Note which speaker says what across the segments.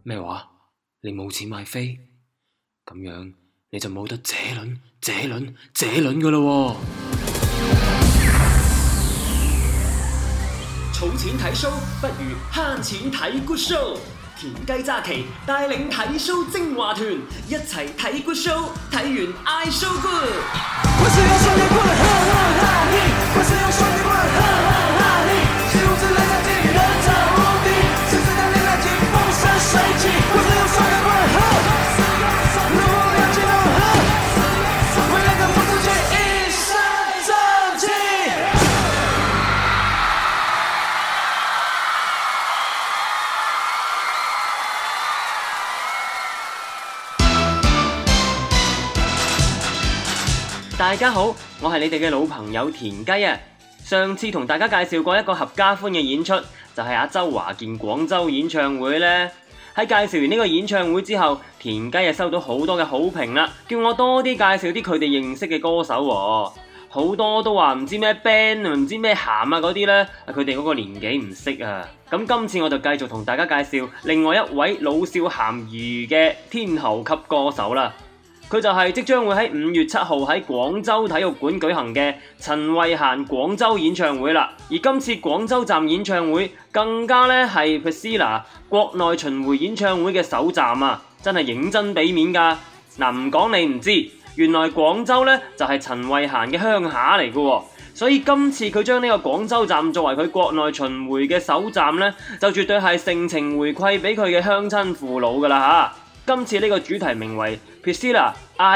Speaker 1: 咩話？你冇錢買飛？咁樣你就冇得這輪㗎喇喎！
Speaker 2: 儲錢睇 show 不如慳錢睇 good show。田雞揸旗帶領睇 show 精華團，一齊睇 good show， 睇完嗌 show good。我是用雙截棍，哈哈哈嘿！我是用雙截棍，哈哈哈嘿！習武之人才盡人才無敵，獅子當年來勁風生水起。我是用雙截棍，哈，如果要激動，哈，為了跟不自己一身正氣。
Speaker 3: 大家好，我係你哋嘅老朋友田雞啊！上次同大家介紹過一個合家歡嘅演出，就係阿周華健廣州演唱會呢。喺介紹完呢個演唱會之後，田雞收到好多嘅好評啦，叫我多啲介紹啲佢哋認識嘅歌手喎。好多都話唔知咩 band 唔知咩鹹啊嗰啲呢，佢哋嗰個年紀唔識啊。咁今次我就繼續同大家介紹另外一位老少咸宜嘅天后級歌手啦。佢就係即將會喺5月7號喺廣州體育館舉行嘅陳慧嫻廣州演唱會啦。而今次廣州站演唱會更加咧係 Priscilla 國內巡迴演唱會嘅首站啊，真係認真俾面㗎。嗱，唔講你唔知，原來廣州咧就係陳慧嫻嘅鄉下嚟嘅喎，所以今次佢將呢個廣州站作為佢國內巡迴嘅首站咧，就絕對係盛情回饋俾佢嘅鄉親父老㗎啦嚇。今次呢個主題名為 Priscilla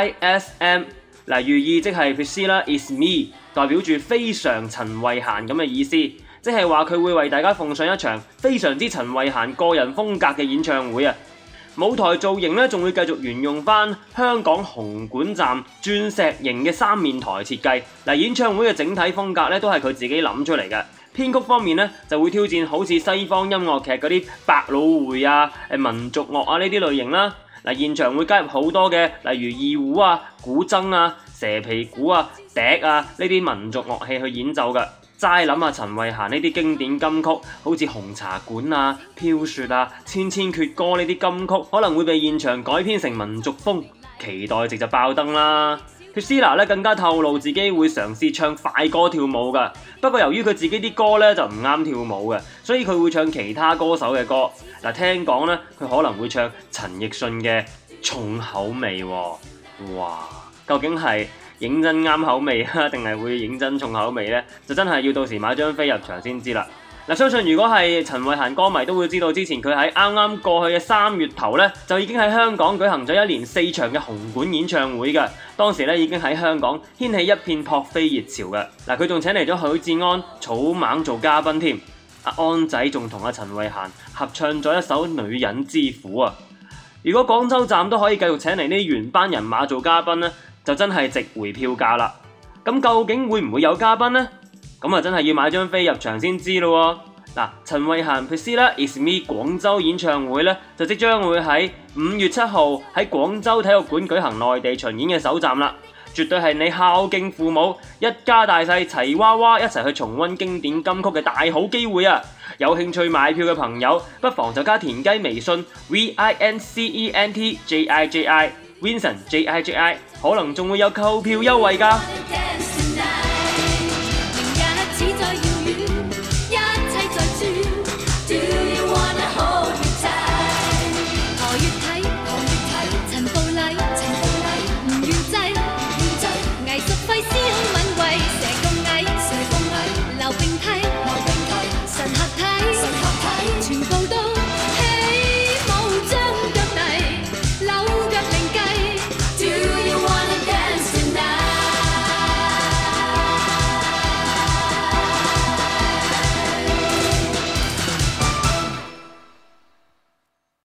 Speaker 3: ISM， 寓意即係 Priscilla is me， 代表住非常陳慧嫻咁嘅意思，即係話佢會為大家奉上一場非常之陳慧嫻個人風格嘅演唱會啊！舞台造型咧仲會繼續沿用翻香港紅館站鑽石型嘅3面台設計。演唱會嘅整體風格咧都係佢自己諗出嚟嘅。編曲方面咧就會挑戰好似西方音樂劇嗰啲百老匯啊、民族樂啊呢啲類型啦。現場會加入好多嘅，例如二胡啊、古箏啊、蛇皮鼓啊、笛啊呢啲民族樂器去演奏嘅。齋諗下陳慧嫻呢啲經典金曲，好似紅茶館啊、飄雪啊、千千闕歌呢啲金曲，可能會被現場改編成民族風，期待值就爆燈啦。Priscilla 咧更加透露自己會嘗試唱快歌跳舞噶，不過由於佢自己啲歌咧就唔啱跳舞嘅，所以佢會唱其他歌手嘅歌。聽講咧佢可能會唱陳奕迅嘅重口味喎。哇，究竟係認真啱口味啊，定係會認真重口味呢？就真係要到時買張飛入場先知啦。相信如果係陳慧嫻歌迷都會知道，之前佢喺啱啱過去嘅3月頭呢，就已經喺香港舉行咗1連4場嘅紅館演唱會嘅。當時呢已經喺香港掀起一片撲飛熱潮嘅。佢仲請嚟咗許志安、草蜢做嘉賓添。阿安仔仲同阿陳慧嫻合唱咗一首《女人之苦》啊！如果廣州站都可以繼續請嚟呢原班人馬做嘉賓呢，就真係值回票價啦。咁究竟會唔會有嘉賓呢？咁真係要買張飛入場先知咯喎。陳慧嫻 Priscilla is me 廣州演唱會呢，就即將會喺5月7號喺廣州體育館舉行內地巡演嘅首站啦。絕對係你孝敬父母、一家大細齊娃娃一齊去重溫經典金曲嘅大好機會啊！有興趣買票嘅朋友，不妨就加田雞微信 VINCENT JIJI Vincent JIJI， 可能仲會有購票優惠㗎。